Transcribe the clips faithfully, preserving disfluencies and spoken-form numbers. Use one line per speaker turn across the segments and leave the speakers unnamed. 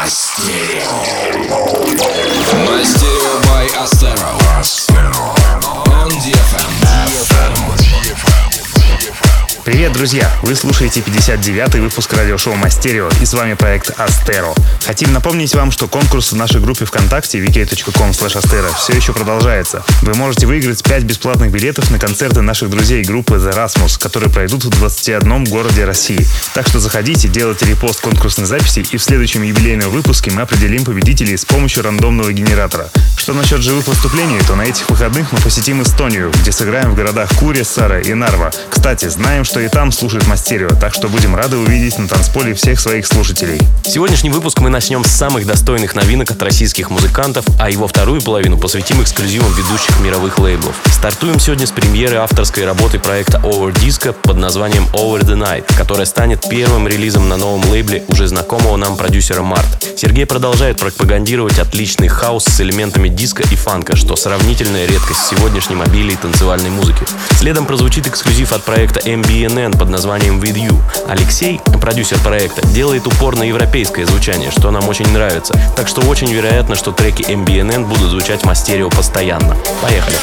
Мастерио by Astero. On ди эф эм.
Привет, друзья! Вы слушаете пятьдесят девятый выпуск радиошоу Мастерио, и с вами проект Astero. Хотим напомнить вам, что конкурс в нашей группе ВКонтакте ви кей точка ком слэш astero все еще продолжается. Вы можете выиграть пять бесплатных билетов на концерты наших друзей группы The Rasmus, которые пройдут в двадцати одном городе России. Так что заходите, делайте репост конкурсной записи, и в следующем юбилейном выпуске мы определим победителей с помощью рандомного генератора. Что насчет живых выступлений, то на этих выходных мы посетим Эстонию, где сыграем в городах Куресара и Нарва. Кстати, знаем, что и там слушают Мастерио, так что будем рады увидеть на танцполе всех своих слушателей.
Сегодняшний выпуск мы начнем с самых достойных новинок от российских музыкантов, а его вторую половину посвятим эксклюзивам ведущих мировых лейблов. Стартуем сегодня с премьеры авторской работы проекта Over Disco под названием Over the Night, которая станет первым релизом на новом лейбле уже знакомого нам продюсера Март. Сергей продолжает пропагандировать отличный хаус с элементами диска и фанка, что сравнительная редкость в сегодняшнем обилии танцевальной музыки. Следом прозвучит эксклюзив от проекта эм би эн эн под названием With You. Алексей, продюсер проекта, делает упор на европейское звучание, что нам очень нравится. Так что очень вероятно, что треки эм би эн эн будут звучать в Мастерио постоянно. Поехали!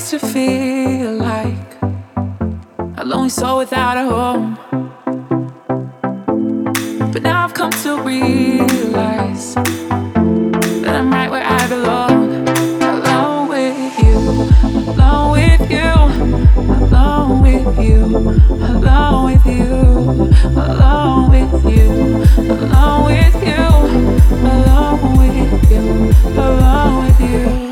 used to feel like a lonely soul without a home. But now I've come to realize that I'm right where I belong. Alone with you, alone with you, alone with you, alone with you, alone with you, alone with you, alone with you, alone with you.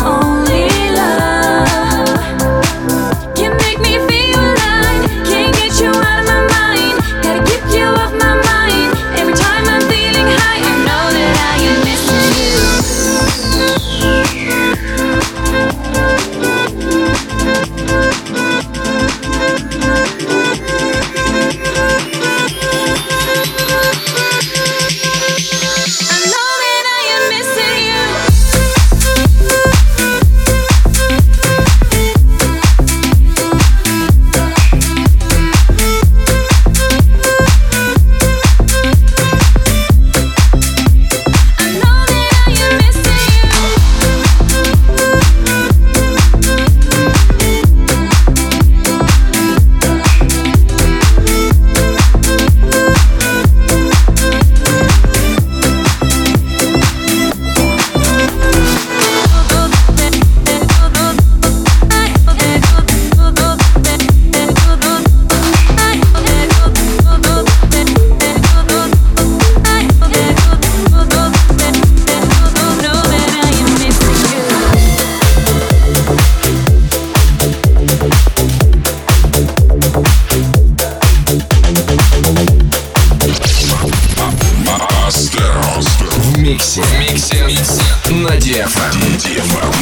Can't get
эф эм. ди эф эм.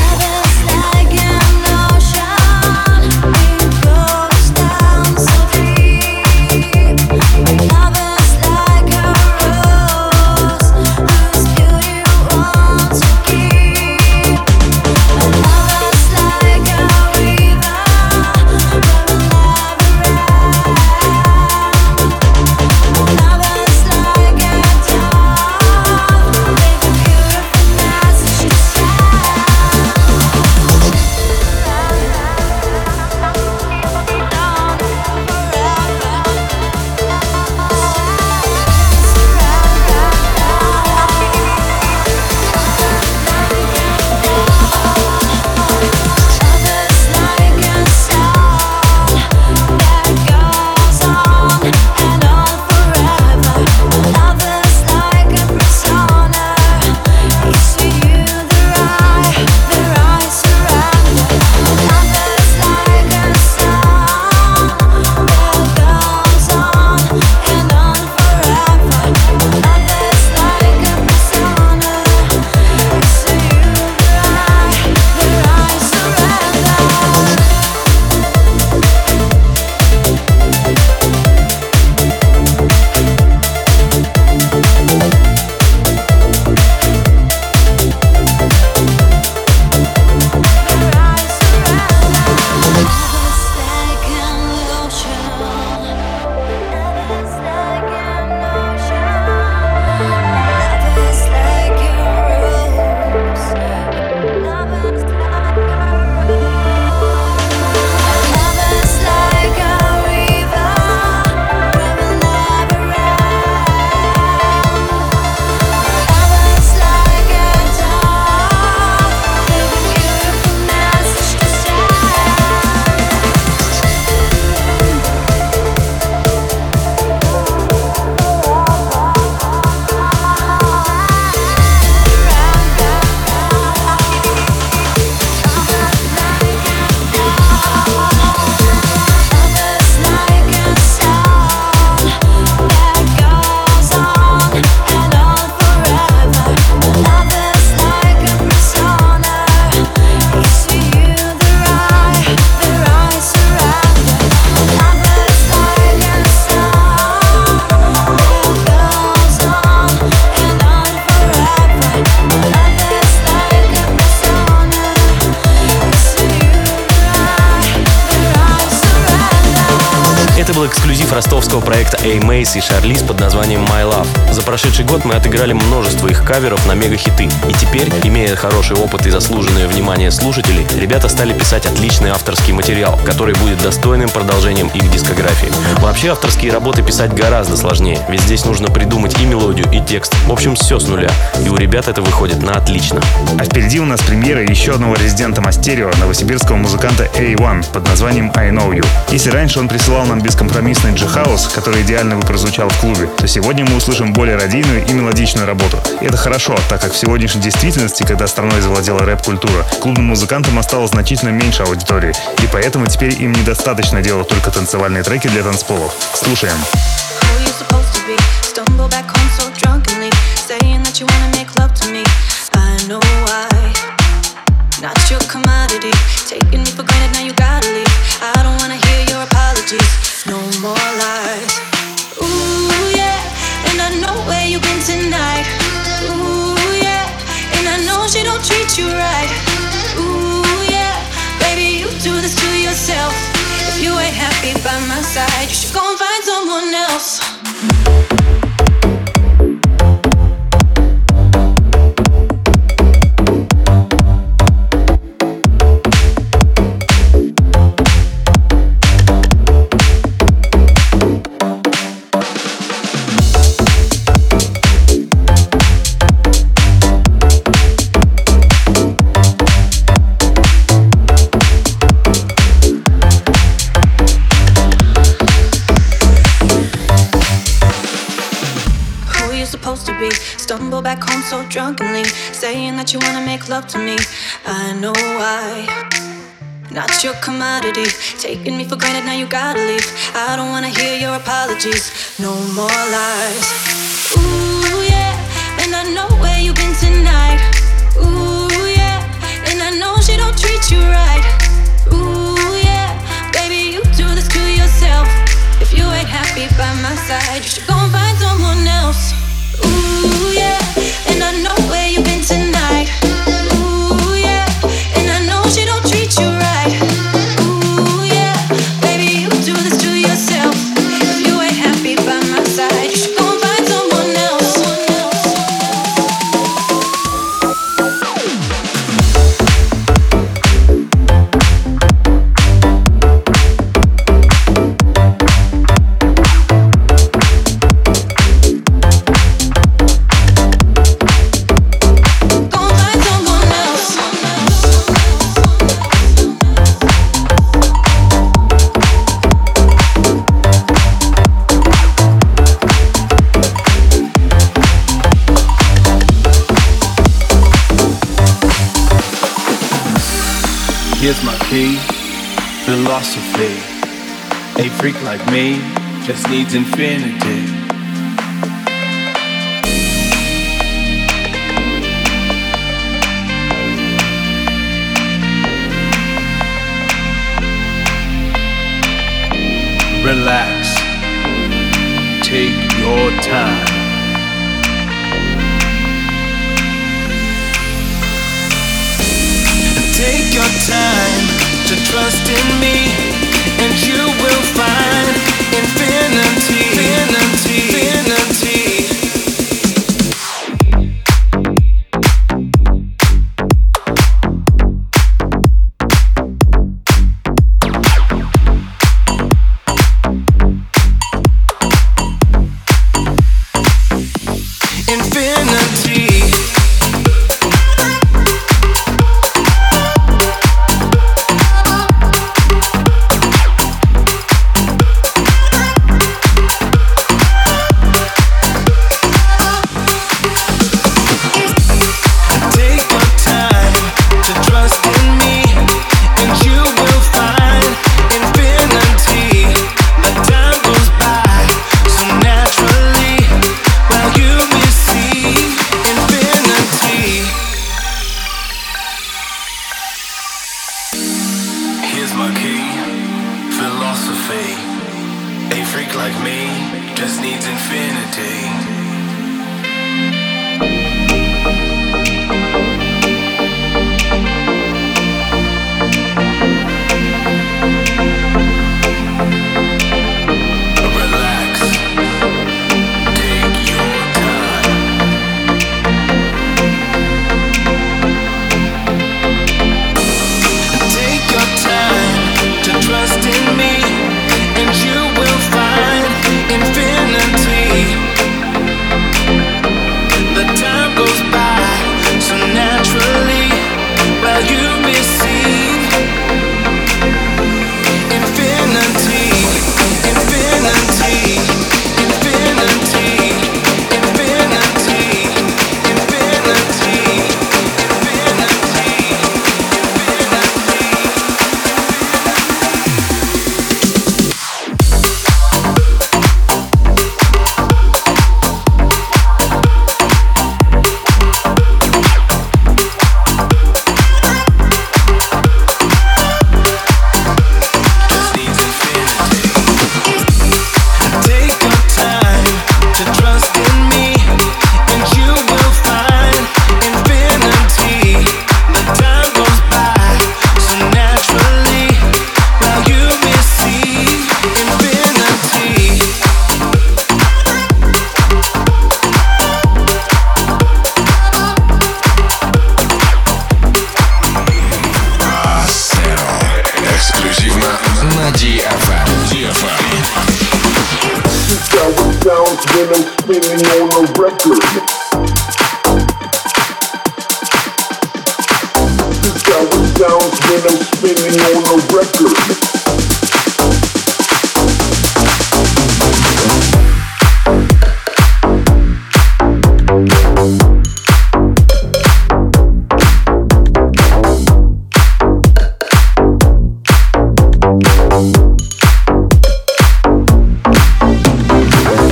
Эксклюзив ростовского проекта A-Mace и Шарлиз под названием My Love. За прошедший год мы отыграли множество их каверов на мега-хиты. И теперь, имея хороший опыт и заслуженное внимание слушателей, ребята стали писать отличный авторский материал, который будет достойным продолжением их дискографии. Вообще, авторские работы писать гораздо сложнее, ведь здесь нужно придумать и мелодию, и текст. В общем, все с нуля. И у ребят это выходит на отлично.
А впереди у нас премьера еще одного резидента Мастерио, новосибирского музыканта эй один под названием I Know You. Если раньше он присылал нам бескомпромиссный джи-хаус, который идеально бы прозвучал в клубе, то сегодня мы услышим более радийную и мелодичную работу. И это хорошо, так как в сегодняшней действительности, когда страной завладела рэп-культура, клубным музыкантам осталось значительно меньше аудитории, и поэтому теперь им недостаточно делать только танцевальные треки для танцполов. Слушаем.
No more lies. Ooh, yeah, and I know where you've been tonight. Ooh, yeah, and I know she don't treat you right. Ooh, yeah, baby, you do this to yourself. If you ain't happy by my side, you should go and find someone else. Stumble back home so drunkenly, saying that you wanna make love to me. I know why. Not your commodity, taking me for granted, now you gotta leave. I don't wanna hear your apologies, no more lies. Ooh, yeah, and I know where you've been tonight. Ooh yeah, and I know she don't treat you right. Ooh yeah, baby you do this to yourself. If you ain't happy by my side, you should go and find someone else. Ooh yeah, and I know where you've been tonight. Ooh yeah, and I know she don't treat you right. Ooh yeah, baby you do this to yourself. If you ain't happy by my side, you should go and find someone else.
Here's my key, philosophy. A freak like me just needs infinity. Relax, take your time. Take your time to trust in me, and you will find infinity, infinity, infinity.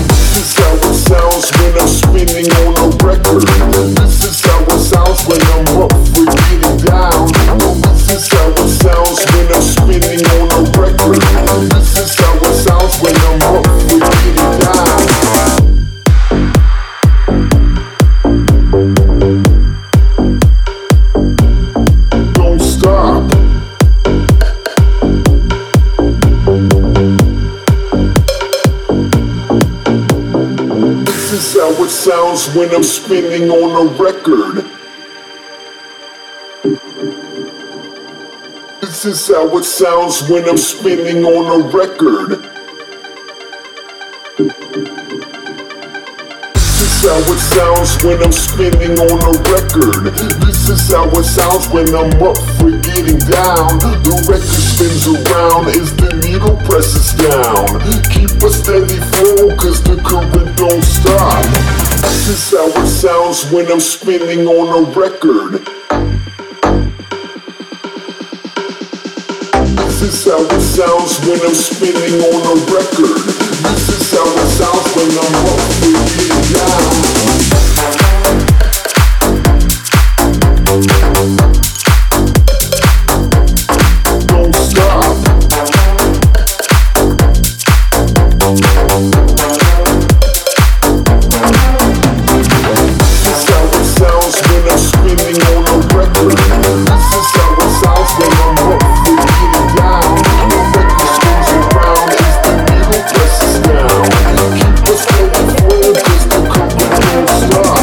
This is how it sounds when I'm it sounds when I'm spinning on a record. This is how it sounds when I'm spinning on a record. This is how it sounds when I'm spinning on a record. This is how it sounds when I'm up for getting down. The record spins around as the needle presses down. Keep a steady flow cause the current don't stop. This is how it sounds when I'm spinning on a record. This is how it sounds when I'm spinning on a record. This is how it sounds when I'm up for getting down. Don't stop. This is how it sounds when I'm spinning on a record. This is how it sounds when I'm up for getting down. The record spins around as the needle presses down. Keep a steady flow cause the current don't stop.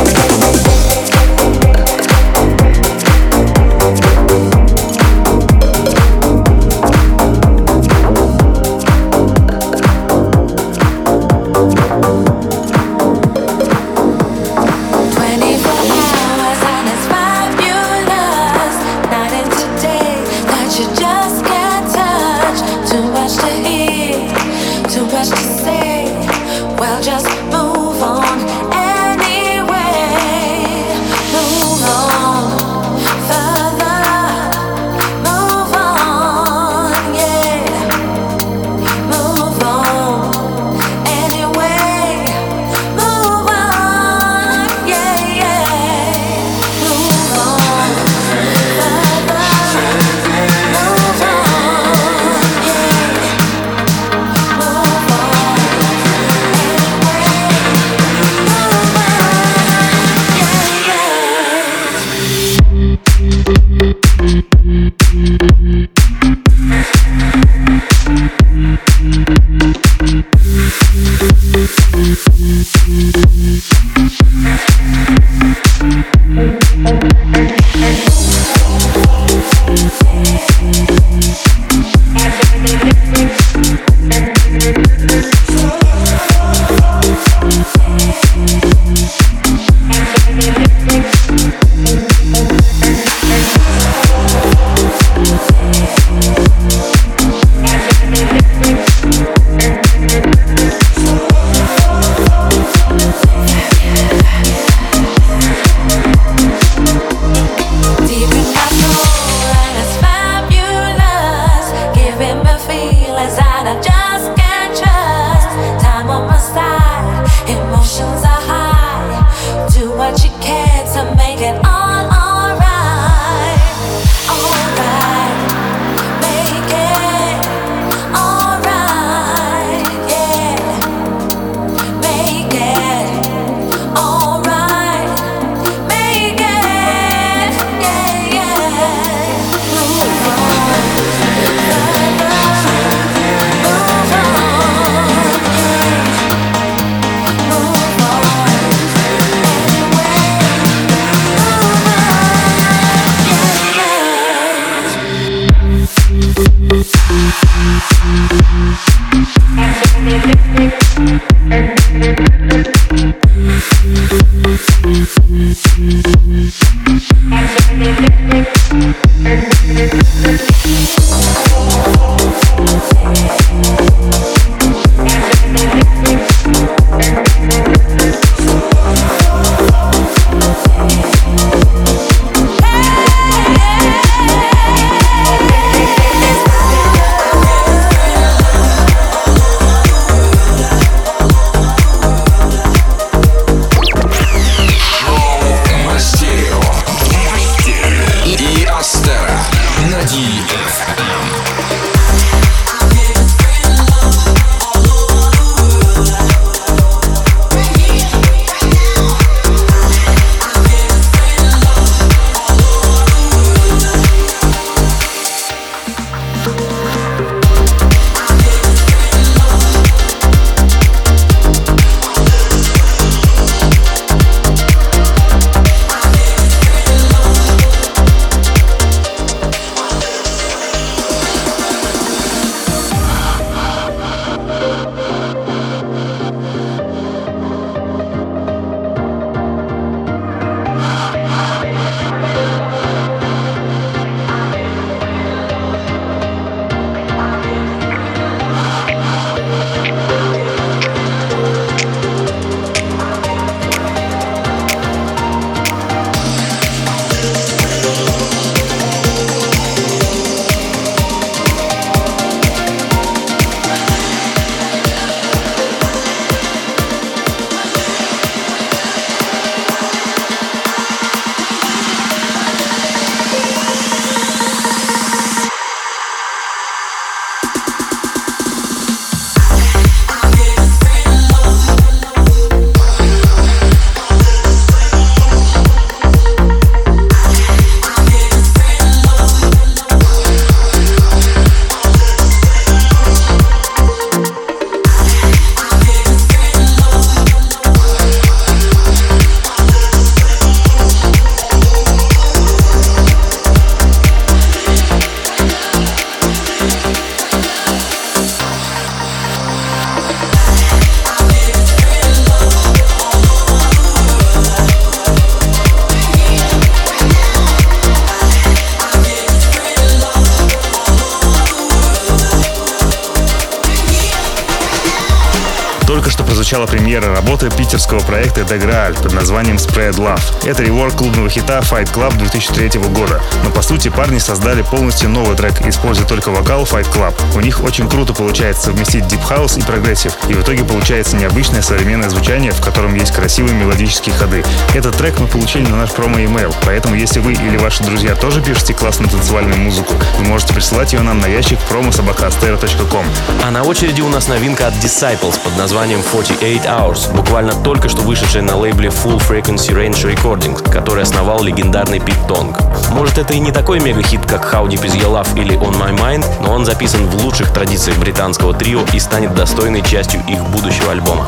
Только что прозвучала премьера работы питерского проекта The Graal под названием Spread Love. Это реворк клубного хита Fight Club две тысячи третьего года. Но по сути парни создали полностью новый трек, используя только вокал Fight Club. У них очень круто получается совместить Deep House и прогрессив, и в итоге получается необычное современное звучание, в котором есть красивые мелодические ходы. Этот трек мы получили на наш промо-имейл, поэтому если вы или ваши друзья тоже пишете классную танцевальную музыку, вы можете присылать ее нам на ящик промо собака астеро точка ком.
А на очереди у нас новинка от Disciples под названием сорок восемь hours, буквально только что вышедшая на лейбле Full Frequency Range Recordings, который основал легендарный Пит Тонг. Может, это и не такой мега-хит, как How Deep Is Your Love или On My Mind, но он записан в лучших традициях британского трио и станет достойной частью их будущего альбома.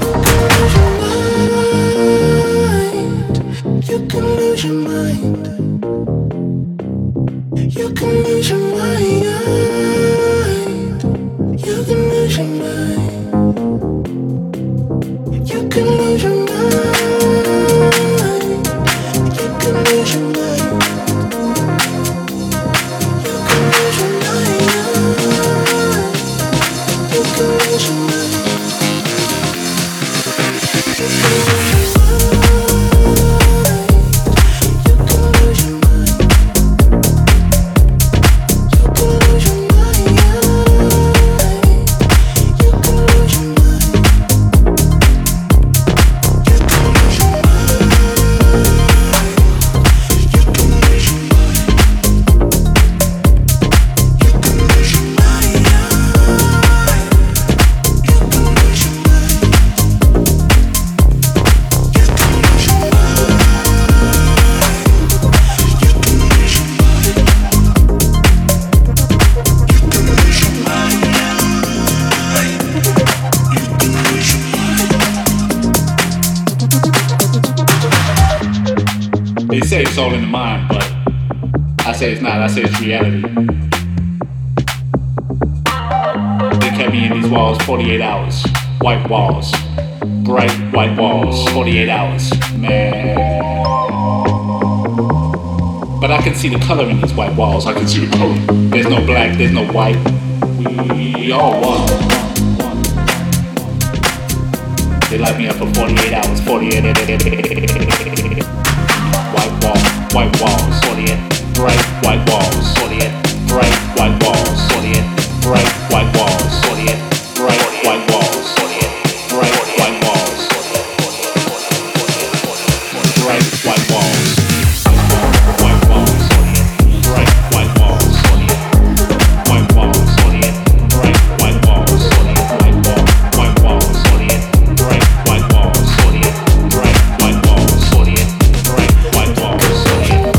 They say it's all in the mind, but I say it's not. I say it's reality. They kept me in these walls forty-eight hours. White walls. Bright white walls. forty-eight hours. Man. But I can see the color in these white walls. I can see the color. There's no black, there's no white. We, we all one. They light me up for forty-eight hours. forty-eight. White wall, white walls, forty-eight. Bright white walls, forty-eight. Bright white walls, forty-eight. Bright white walls, forty-eight. Bright white walls, forty-eight. Bright white walls, bright white walls. White walls, forty-eight. Bright white walls, forty-eight. White walls, forty-eight. Bright white walls, forty-eight. White wall, white walls, forty-eight. Bright white walls, forty-eight. Bright white walls, forty-eight. Bright white walls, forty-eight.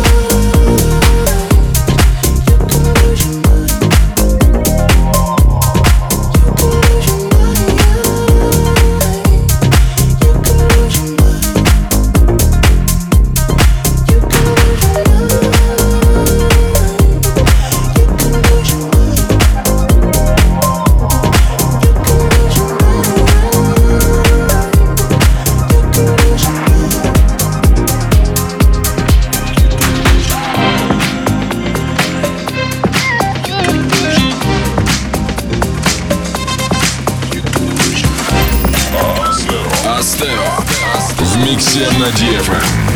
Астеро в миксе на ди эф эм.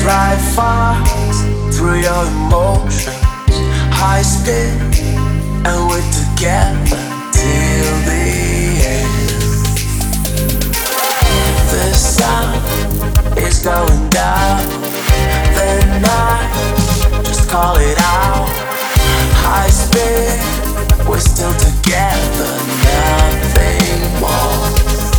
drive fast through your emotions, high speed, and we're together till the end. The sun is going down, then I just call it out. High speed, we're still together, nothing more.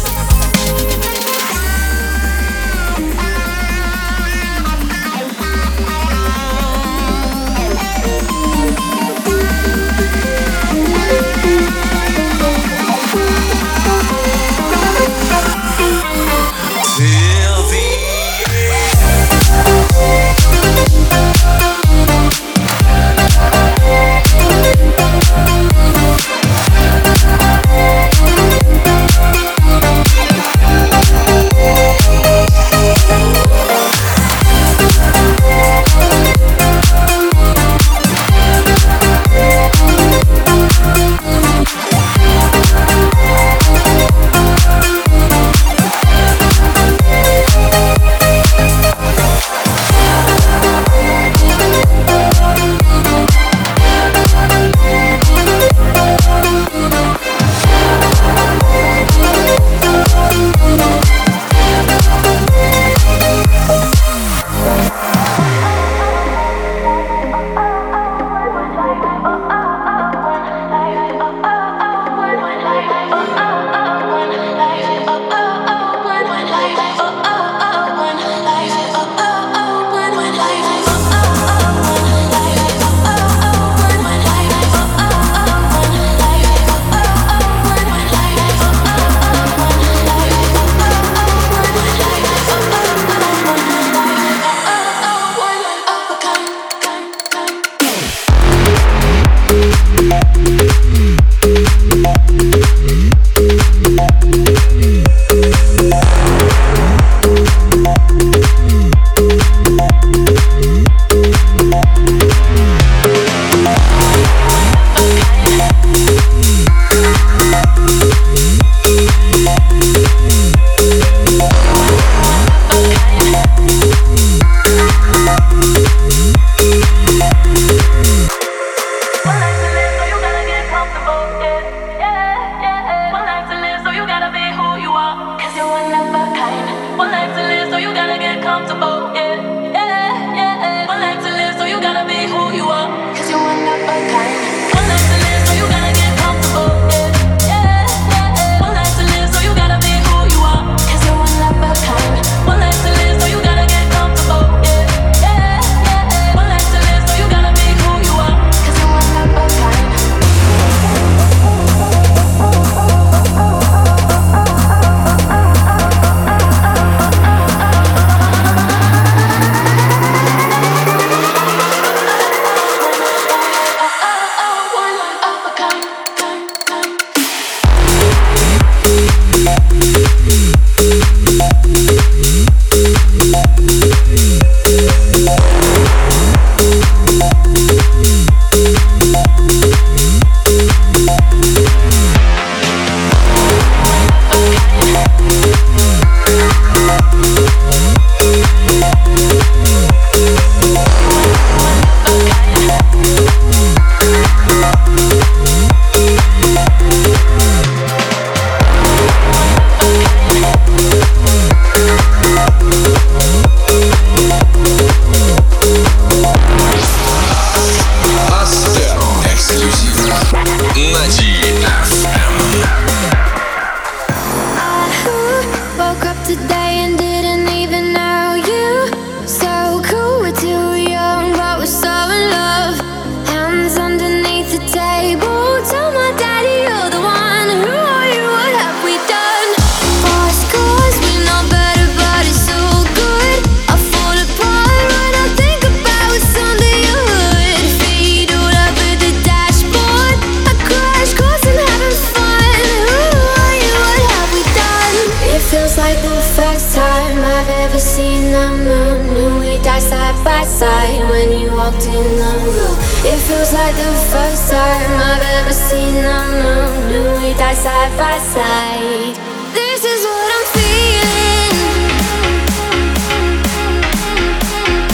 It feels like the first time I've ever seen the moon. Do we die side by side? This is what I'm feeling.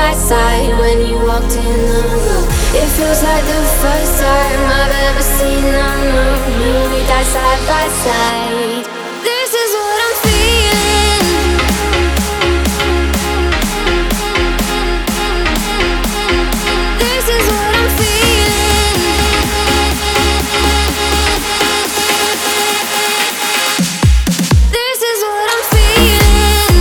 by side when you walked in the room. It feels like the first time I've ever seen unknown you. We die side by side. This is what I'm feeling. This is what I'm feeling. This is what I'm feeling.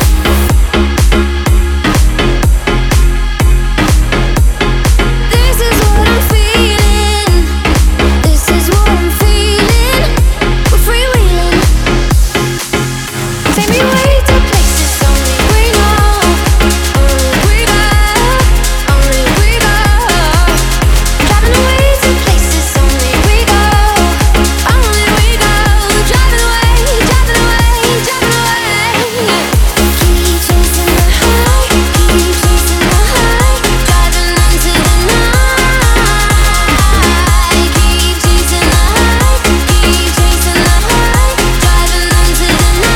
This is what I'm feeling. This is what I'm feeling. We're freewheeling. Take me away to places only we know. Only we go. Only we go. Driving away to places only we go. Only we go. Driving away, driving away, driving away. Keep chasing the high, keep chasing the high. Driving into the night. Keep chasing the high, keep chasing the high. Driving into the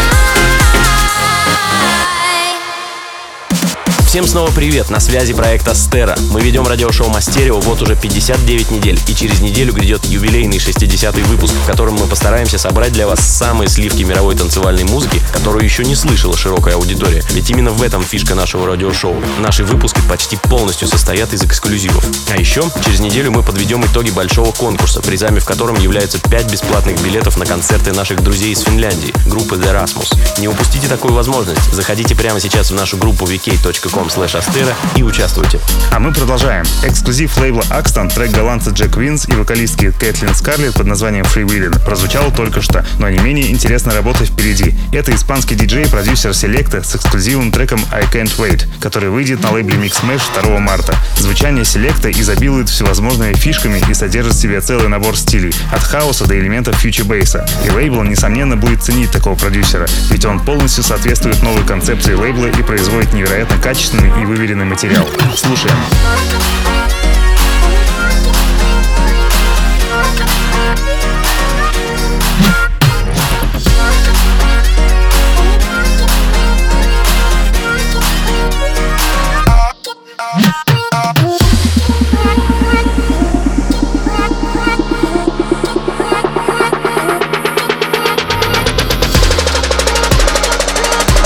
night.
Всем снова привет, на связи проект Астера. Мы ведем радиошоу Мастерио вот уже пятьдесят девять недель, и через неделю грядет юбилейный шестидесятый выпуск, в котором мы постараемся собрать для вас самые сливки мировой танцевальной музыки, которую еще не слышала широкая аудитория. Ведь именно в этом фишка нашего радиошоу. Наши выпуски почти полностью состоят из эксклюзивов. А еще через неделю мы подведем итоги большого конкурса, призами в котором являются пять бесплатных билетов на концерты наших друзей из Финляндии, группы The Rasmus. Не упустите такую возможность. Заходите прямо сейчас в нашу группу ви кей точка ком слэш астера и участвуйте.
А мы продолжаем. Эксклюзив лейбла Axton, трек голландца Джек Винс и вокалистки Кэтлин Скарлетт под названием Freewheeling прозвучал только что, но не менее интересная работа впереди. Это испанский диджей и продюсер Selecta с эксклюзивным треком I Can't Wait, который выйдет на лейбле Mix Mash второго марта. Звучание Selecta изобилует всевозможными фишками и содержит в себе целый набор стилей, от хаоса до элементов фьючер-бейса. И лейбл, несомненно, будет ценить такого продюсера, ведь он полностью соответствует новой концепции лейбла и производит невероятно качественный и выверенный материал. Слушаем.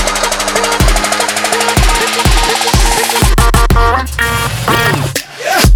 Yeah.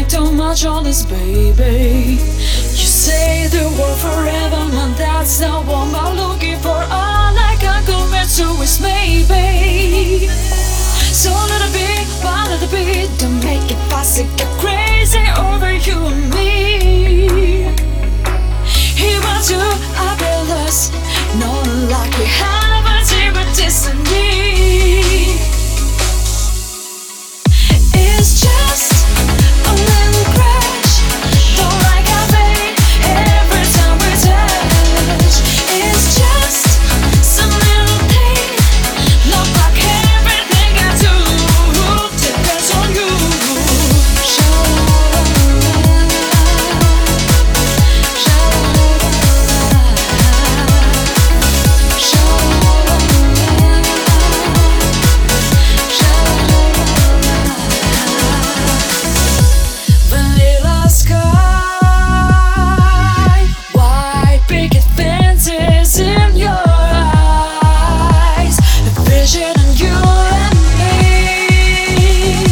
like too much on this, baby. You say the word forever, and that's not what I'm looking for. All I can commit to is maybe. So let it be, one little bit, don't make it fast, it get crazy over you and me. He wants you, I feel us, not like we have a secret destiny. It's just a little crash, don't like our fate every time we touch. It's just some little pain, not like everything I do depends on you. Vanilla sky, white picket fences in your eyes, a vision of you and me.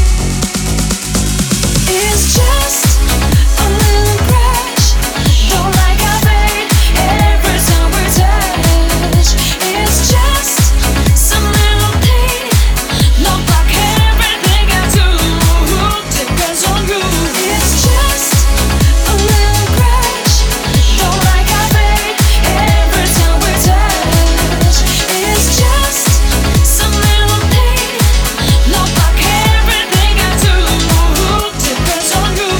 It's just a little crash, don't like our fate every time we touch. It's just some little pain, not like everything I do depends on you. It's just a little crash, don't like our fate every time we touch. It's just some little pain, not like everything I do depends on you.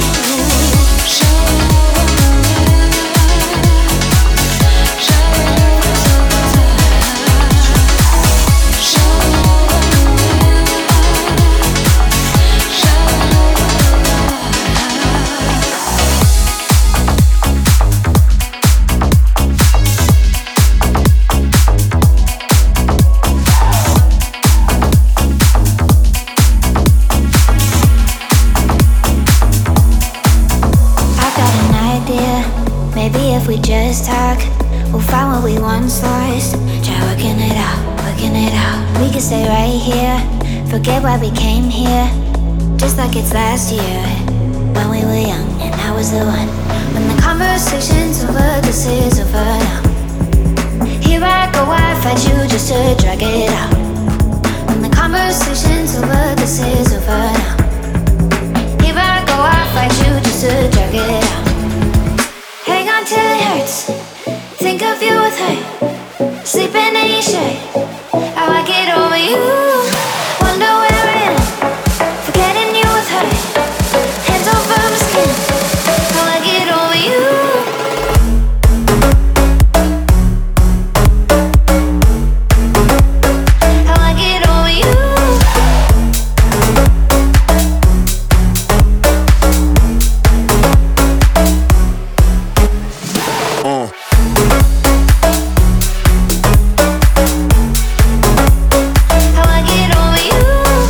I've got an idea. Maybe if we just talk, we'll find what we once lost. Try working it out, working it out. We could stay right here, forget why we came here. Just like it's last year, when we were young and I was the one. When the conversation's over, this is over now. Here I go, I fight you just to drag it out. When the conversation's over, this is over now. Here I go, I fight you just to drag it out. Hang on till it hurts. Think of you with her, sleeping in your shirt. How I get over you. Wonder where I am, forgetting you with her. Hands over my skin. How I get over you. How I get over you. How I get over you.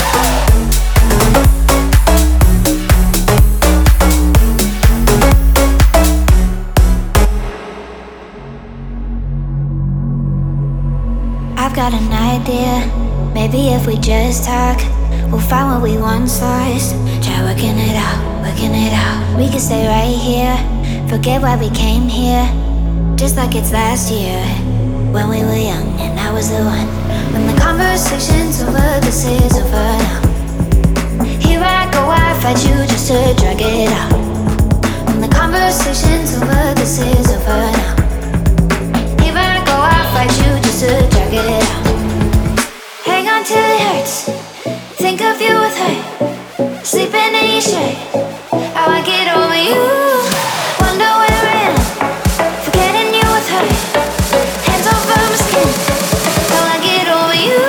I've got an idea. Maybe if we just talk, we'll find what we once lost. Try working it out, working it out. We could stay right here, forget why we came here. Just like it's last year, when we were young and I was the one. When the conversation's over, this is over now. Here I go, I fight you just to drag it out. When the conversation's over, this is over now. Here I go, I fight you just to drag it out. Hang on till it hurts. Think of you with her, sleeping in your shirt. How I get over you. Wonder where I am, forgetting you with her. Hands over my skin. How I get over you.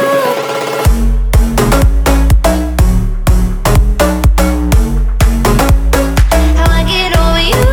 How I get over you.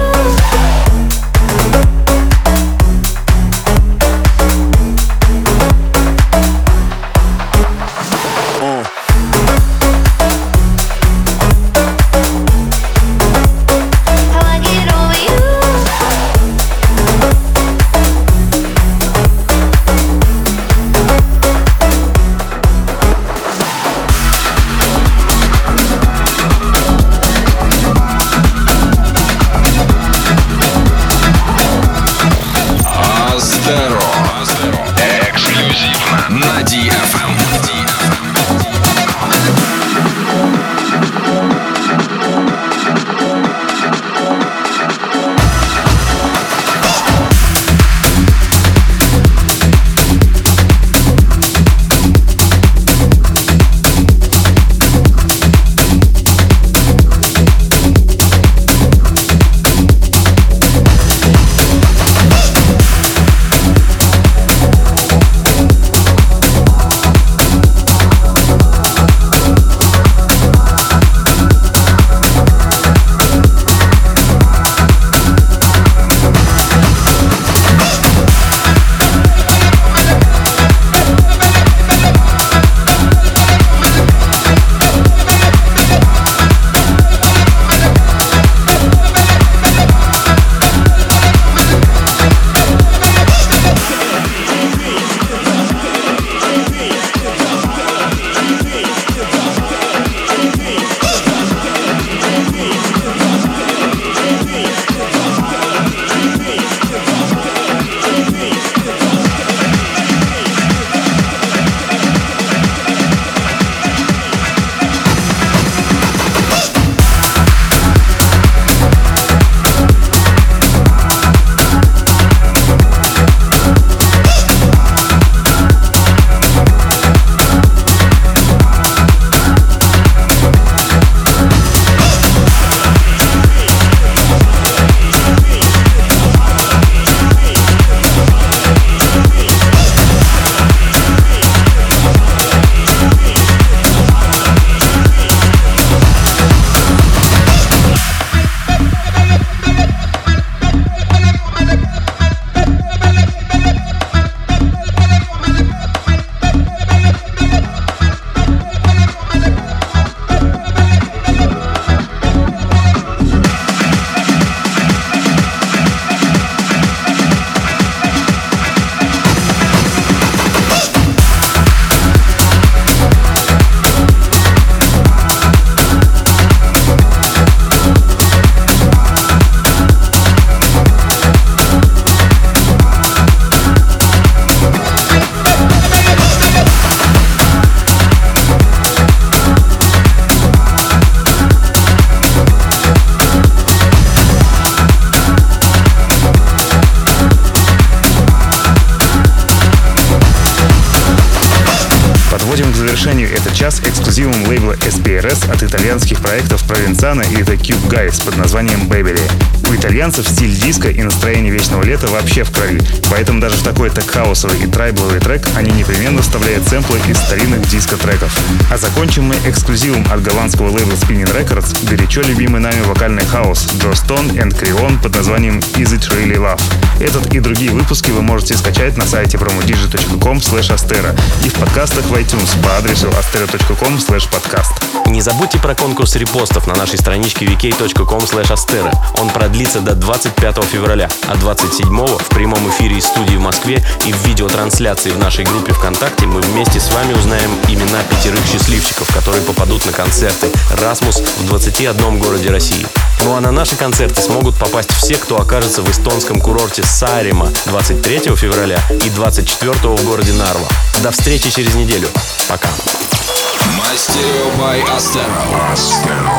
эксклюзивом лейбла эс би ар эс от итальянских проектов Провенцано и The Cube Guys под названием Baby. У итальянцев стиль диска и настроение вечного лета вообще в крови, поэтому даже в такой тек-хаусовый и трайбловый трек они непременно вставляют сэмплы из старинных диско-треков. А закончим мы эксклюзивом от голландского лейбла Spinnin' Records, горячо любимый нами вокальный хаос Джо Стон и Крион под названием Is It Really Love. Этот и другие выпуски вы можете скачать на сайте promodj точка ком слэш astero и в подкастах в iTunes по адресу astero точка ком слэш подкаст.
Не забудьте про конкурс репостов на нашей страничке ви кей точка ком слэш astero. Он продлится до двадцать пятого февраля, а двадцать седьмого в прямом эфире из студии в Москве и в видеотрансляции в нашей группе ВКонтакте мы вместе с вами узнаем имена пятерых счастливчиков, которые попадут на концерты «Расмус» в двадцати одном городе России. Ну а на наши концерты смогут попасть все, кто окажется в эстонском курорте Саареmaa двадцать третьего февраля и двадцать четвёртого в городе Нарва. До встречи через неделю. Пока.
My Stereo by Astero.